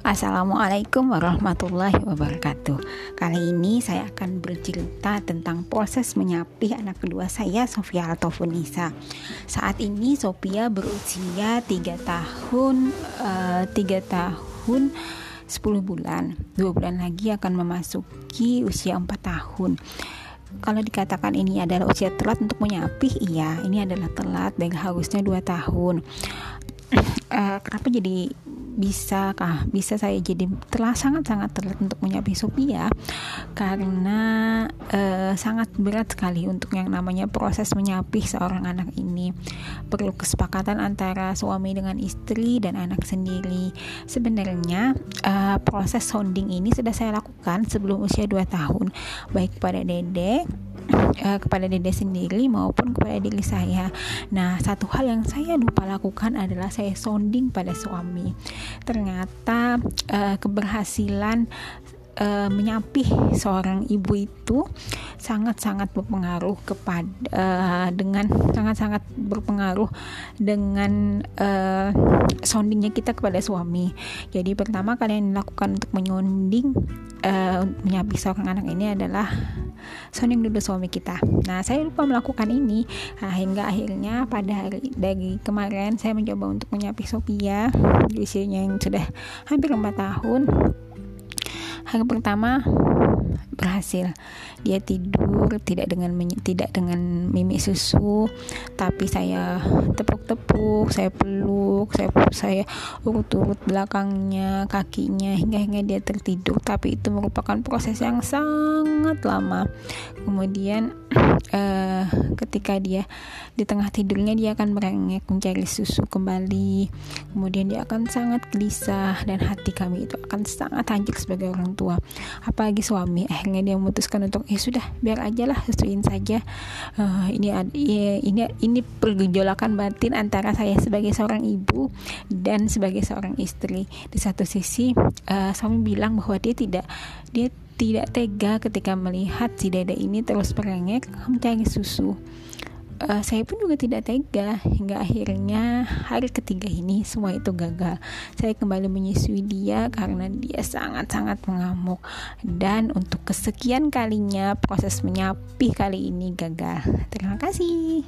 Assalamualaikum warahmatullahi wabarakatuh. Kali ini saya akan bercerita tentang proses menyapih anak kedua saya, Sofia Altofunisa. Saat ini Sofia berusia 3 tahun 10 bulan. 2 bulan lagi akan memasuki usia 4 tahun. Kalau dikatakan ini adalah usia telat untuk menyapih, iya, ini adalah telat dan harusnya 2 tahun. Kenapa jadi bisa saya jadi sangat telat untuk menyapih Sophia? Karena sangat berat sekali untuk yang namanya proses menyapih seorang anak ini. Perlu kesepakatan antara suami dengan istri dan anak sendiri. Sebenarnya proses sounding ini sudah saya lakukan sebelum usia 2 tahun, baik kepada dede sendiri maupun kepada diri saya. Nah, satu hal yang saya lupa lakukan adalah saya sounding pada suami. Ternyata keberhasilan menyapih seorang ibu itu sangat-sangat berpengaruh dengan soundingnya kita kepada suami. Jadi pertama kali yang dilakukan untuk menyonding menyapih seorang anak ini adalah sounding dulu suami kita. Nah, saya lupa melakukan ini hingga akhirnya pada hari dari kemarin saya mencoba untuk menyapih Sophia di usianya yang sudah hampir 4 tahun. Hari pertama berhasil. Dia tidur tidak dengan mimik susu, tapi saya tepuk-tepuk, saya peluk, saya urut-urut belakangnya, kakinya hingga dia tertidur. Tapi itu merupakan proses yang sangat lama. Kemudian ketika dia di tengah tidurnya, dia akan merengek mencari susu kembali. Kemudian dia akan sangat gelisah dan hati kami itu akan sangat hancur sebagai orang tua. Apalagi suami, akhirnya dia memutuskan untuk sudah biar aja lah, susuin saja. Ini pergejolakan batin antara saya sebagai seorang ibu dan sebagai seorang istri. Di satu sisi suami bilang bahwa dia tidak tega ketika melihat si dede ini terus merengek mencari susu. Saya pun juga tidak tega hingga akhirnya hari ketiga ini semua itu gagal. Saya kembali menyusui dia karena dia sangat-sangat mengamuk, dan untuk kesekian kalinya proses menyapih kali ini gagal. Terima kasih.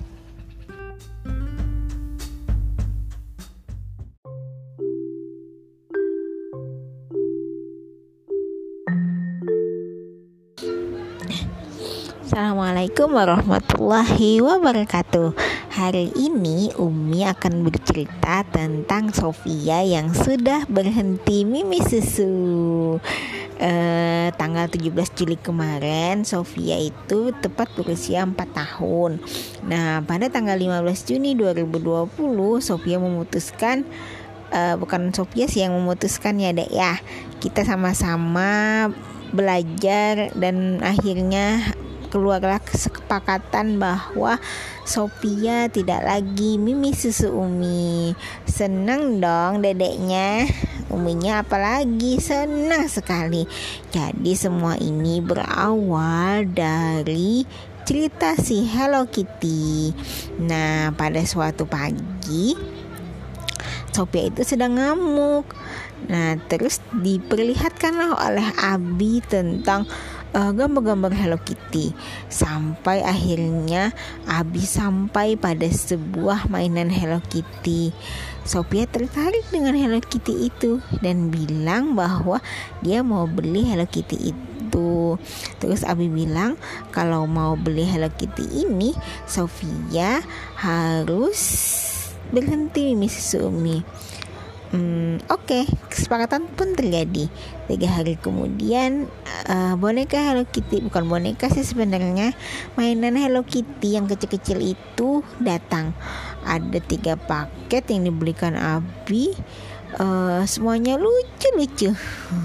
Assalamualaikum warahmatullahi wabarakatuh. Hari ini Umi akan bercerita tentang Sophia yang sudah berhenti mimi susu. Tanggal 17 Juli kemarin Sophia itu tepat berusia 4 tahun. Nah, pada tanggal 15 Juni 2020 Sophia memutuskan, bukan Sophia sih yang memutuskan ya Dek ya, kita sama-sama belajar dan akhirnya keluarlah kesepakatan bahwa Sophia tidak lagi mimi susu Umi. Senang dong dedeknya, Uminya apalagi senang sekali. Jadi semua ini berawal dari cerita si Hello Kitty. Nah, pada suatu pagi Sophia itu sedang ngamuk. Nah, terus diperlihatkanlah oleh Abi tentang gambar-gambar Hello Kitty, sampai akhirnya Abi sampai pada sebuah mainan Hello Kitty. Sophia tertarik dengan Hello Kitty itu dan bilang bahwa dia mau beli Hello Kitty itu. Terus Abi bilang kalau mau beli Hello Kitty ini Sophia harus berhenti mimi susu Umi. Oke, kesepakatan pun terjadi. 3 hari kemudian boneka Hello Kitty, bukan boneka sih sebenarnya, mainan Hello Kitty yang kecil-kecil itu datang. Ada 3 paket yang dibelikan Abi, semuanya lucu-lucu.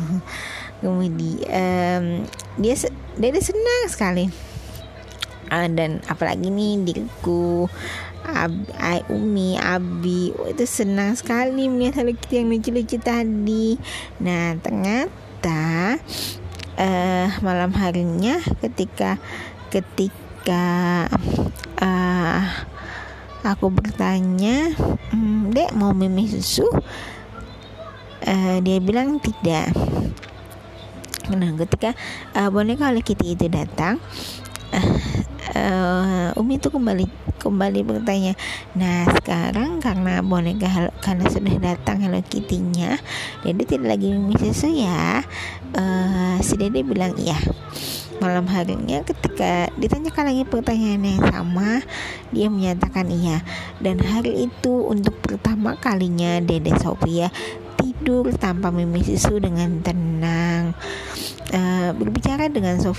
Kemudian dia senang sekali. Dan apalagi nih diriku, Umi, Abi itu senang sekali melihat Hello Kitty yang lucu-lucu tadi. Nah, ternyata malam harinya ketika aku bertanya, Dek mau mimi susu? Dia bilang tidak. Nah, ketika boneka Hello Kitty itu datang, Umi itu kembali bertanya, nah sekarang karena karena sudah datang Hello Kitty-nya, Dede tidak lagi Mimi Susu ya? Si Dede bilang iya. Malam harinya ketika ditanyakan lagi pertanyaan yang sama, dia menyatakan iya. Dan hari itu untuk pertama kalinya Dede Sofia tidur tanpa Mimi Susu dengan tenang. Berbicara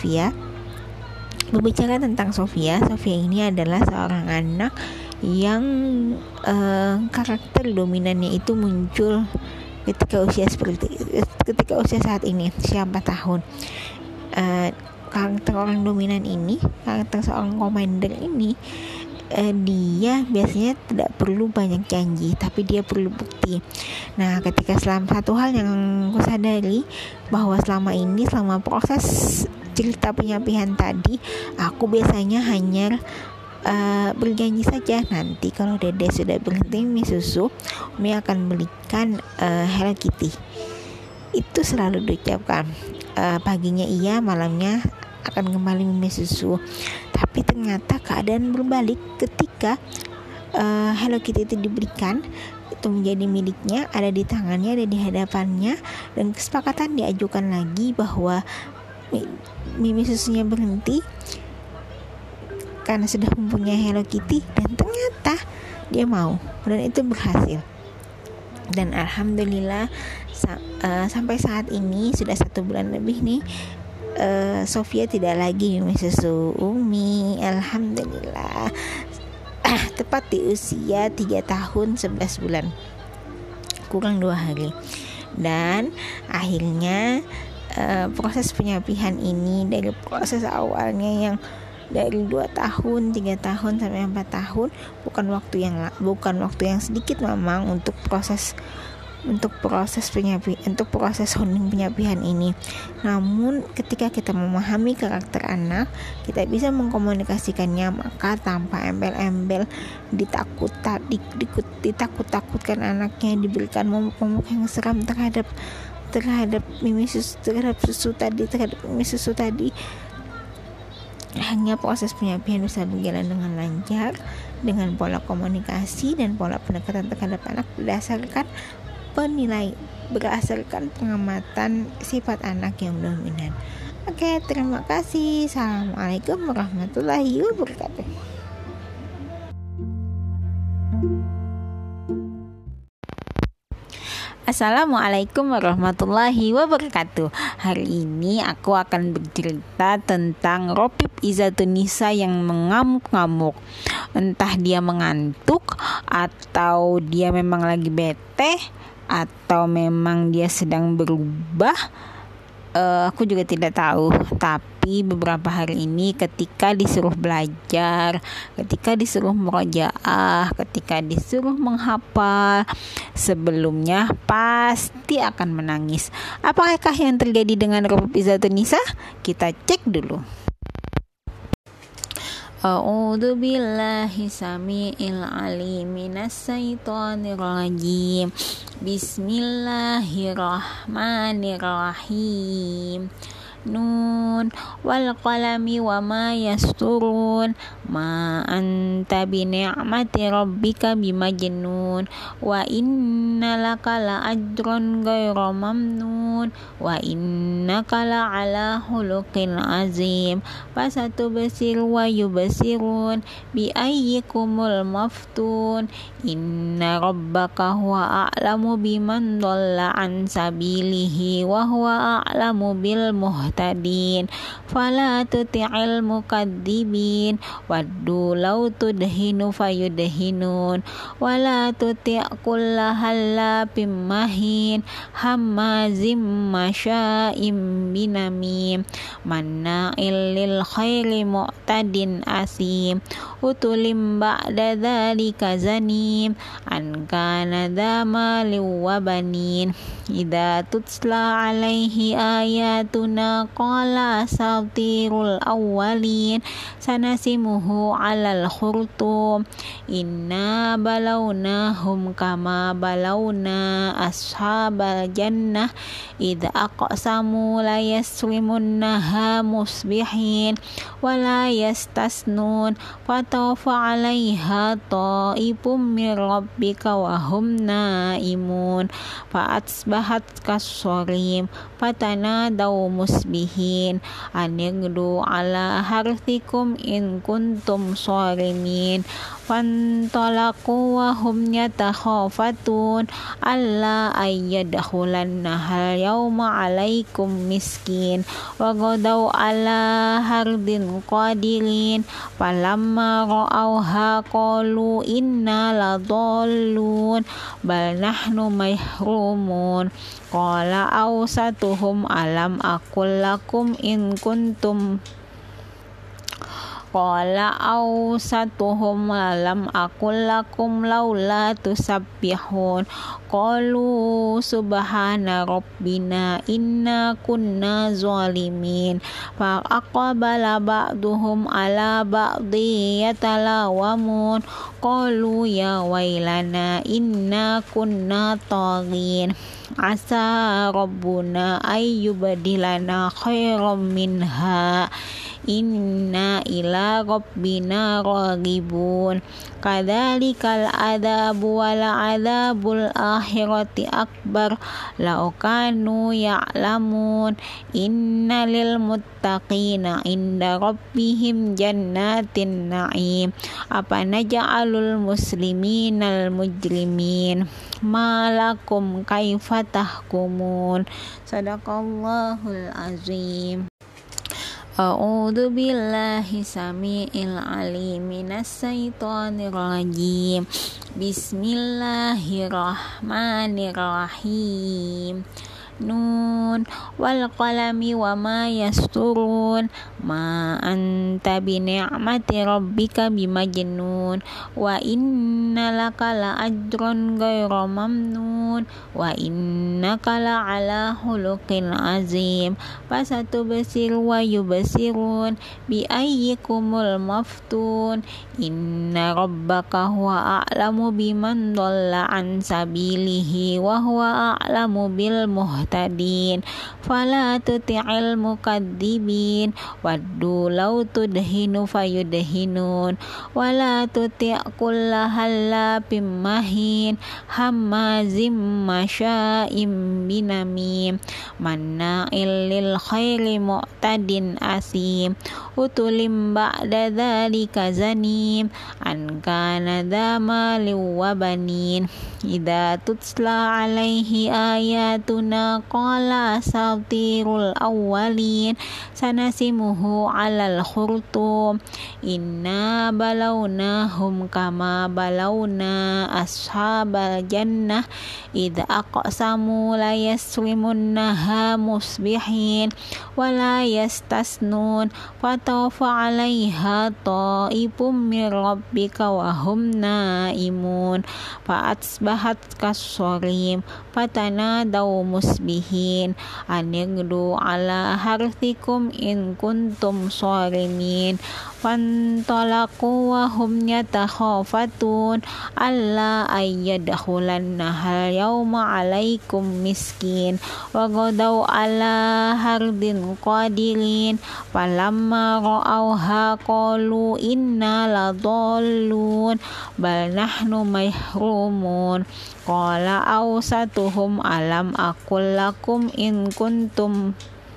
tentang Sofia ini adalah seorang anak yang karakter dominannya itu muncul ketika usia saat ini, usia 4 tahun. Karakter orang dominan ini, karakter seorang komander ini, dia biasanya tidak perlu banyak janji, tapi dia perlu bukti. Nah, ketika satu hal yang aku sadari, bahwa selama proses cerita penyapihan tadi, aku biasanya hanya berjanji saja, nanti kalau Dede sudah berhenti Mimi Susu, Umi akan belikan Hello Kitty. Itu selalu diucapkan. Paginya iya, malamnya akan kembali Mimi Susu. Tapi ternyata keadaan berbalik ketika Hello Kitty itu diberikan, itu menjadi miliknya, ada di tangannya, ada di hadapannya, dan kesepakatan diajukan lagi bahwa Mimi Susunya berhenti karena sudah mempunyai Hello Kitty, dan ternyata dia mau, dan itu berhasil. Dan alhamdulillah sampai saat ini sudah 1 bulan lebih nih, Sofia tidak lagi Mimi Susu Umi, alhamdulillah. Tepat di usia 3 tahun 11 bulan, kurang 2 hari. Dan akhirnya proses penyapihan ini, dari proses awalnya yang dari 2 tahun, 3 tahun sampai 4 tahun, bukan waktu yang sedikit memang untuk proses sounding penyapihan ini. Namun ketika kita memahami karakter anak, kita bisa mengkomunikasikannya, maka tanpa embel-embel ditakut-takutkan anaknya, diberikan momok-momok yang seram terhadap Mimi Susu tadi, hanya proses penyapian bisa berjalan dengan lancar dengan pola komunikasi dan pola pendekatan terhadap anak berdasarkan pengamatan sifat anak yang dominan. Oke, terima kasih. Assalamualaikum warahmatullahi wabarakatuh. Assalamualaikum warahmatullahi wabarakatuh. Hari ini aku akan bercerita tentang Ropip Izzatunisa yang mengamuk-ngamuk. Entah dia mengantuk, atau dia memang lagi bete, atau memang dia sedang berubah. Aku juga tidak tahu. Tapi beberapa hari ini ketika disuruh belajar, ketika disuruh murojaah, ketika disuruh menghafal, sebelumnya pasti akan menangis. Apakah yang terjadi dengan Ropip Izzatunisa? Kita cek dulu. A'udzu billahi samiil alim minas syaitonir rajim. Bismillahirrahmanirrahim. Nun wal qalami wa ma yasturun, ma anta bi ni'mati rabbika bimajnun, wa inna laka la ajrun ghairu mamnun, wa innaka la ala khuluqin azim. Fasatubsir wa yubsirun bi ayyikumul maftun, inna rabbaka huwa a'lamu biman dhalla an sabilihi wa huwa a'lamu bil muhtadin. Fala tuti'il mukadzibin waddu law tudhinu fayudhinun, wala tuti' kulla hallafim mahin hammazim masya'im binamim manna'il lil khairi mu'tadin asim utulim ba'da dzalika zanim an kana dza malin wa banin idza tutsla alaihi ayatuna qala asatirul awwalin sanasimuhu alal khurtum inna balawnahum kama balawna ashabal jannah idza aqsamu la yasrimunnaha musbihin wa la yastasnun fatafa 'alaiha ta'ifum min rabbika wa hum naimun fa'asbahat kassarim fatanadaw musbihin anigdu 'ala harthikum in kuntum sharimin fantalaqu wa hum yatakhafatun alla ayyadkhulannaha yawma 'alaikum miskin wa ghadaw 'ala hardin qadirin falamma ra'awha qalu inna ladallun bal nahnu mahrumun qala awsatuhum alam aqul lakum in kuntum Qala awsatuhum alam aqul lakum laula tusabbihun qalu subhana rabbina inna kunna zalimin fa aqbala ba'duhum ala ba'di yatalawamun qalu ya wailana inna kunna taghin asa rabbuna ayyubadilana khairam minha inna ila rabbina raghibun kadzalikal adabu wal adabul akhirati akbar law kanu ya'lamun inna lil muttaqina inda rabbihim jannatin na'im apa naj'alul musliminal mujrimin malakum kaifa tahkumun sadaqallahul azim. A'udzu billahi samiil alim minas syaitonir rajim. Bismillahirrahmanirrahim. Nun wal qalami wa ma yasturun ma anta bi ni'mati rabbika bimajnun wa inna laka la ajrun ghairu mamnun wa innaka la ala khuluqin azim fasatubsir wa yubsirun bi ayyikumul maftun inna rabbaka huwa a'lamu biman dhalla an sabilihi wa huwa a'lamu bil muhtadin fala tuti'il mukadzibin waddu law tudhinu fayudhinun wala tuti' kulla hallafim mahin hammazim masya'im binamim manna'il lil khairi mu'tadin asim utulim ba'da dzalika zanim an kana dzamali wa banin idza tutla alaihi ayatuna qala asatirul awwalin sanasimuhu alal khurtum inna balawnahum kama balawna ashabal jannah idza aqsamu la yasrimunnaha musbihin wa la yastasnun fatafa 'alaiha ta'ifum min rabbika wa hum naimun fa'asbahat kassarim fatanadaw musbihin anigdu 'ala harthikum in kuntum sharimin fantalaqu wa hum yatakhafatun alla ayyadkhulannaha yawma 'alaikum miskin wa ghadaw 'ala hardin qadirin falamma ra'awha qalu inna ladallun bal nahnu mahrumun qala awsatuhum alam aqul lakum in kuntum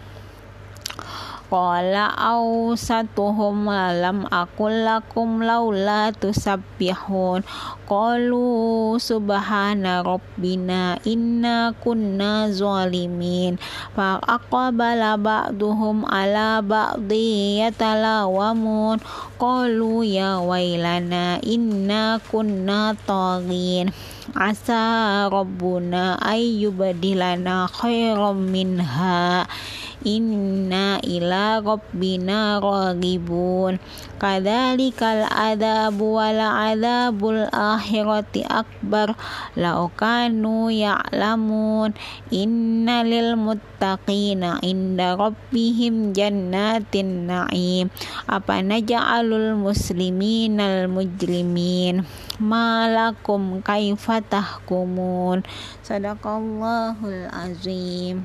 Qala awsatuhum alam aqul lakum laula tusabbihun qalu subhana rabbina inna kunna zalimin fa aqbala ba'duhum ala ba'di yatalawamun qalu ya wailana inna kunna taghin asa rabbuna ayyubadilana khairam minha inna ila rabbina raghibun. Kadzalikal adabu wal adabul akhirati akbar law kanu ya'lamun. Inna lil muttaqina inda rabbihim jannatin na'im. Apa naj'alul musliminal mujrimin malakum kaifa tahkumun. Sadaqallahul azim.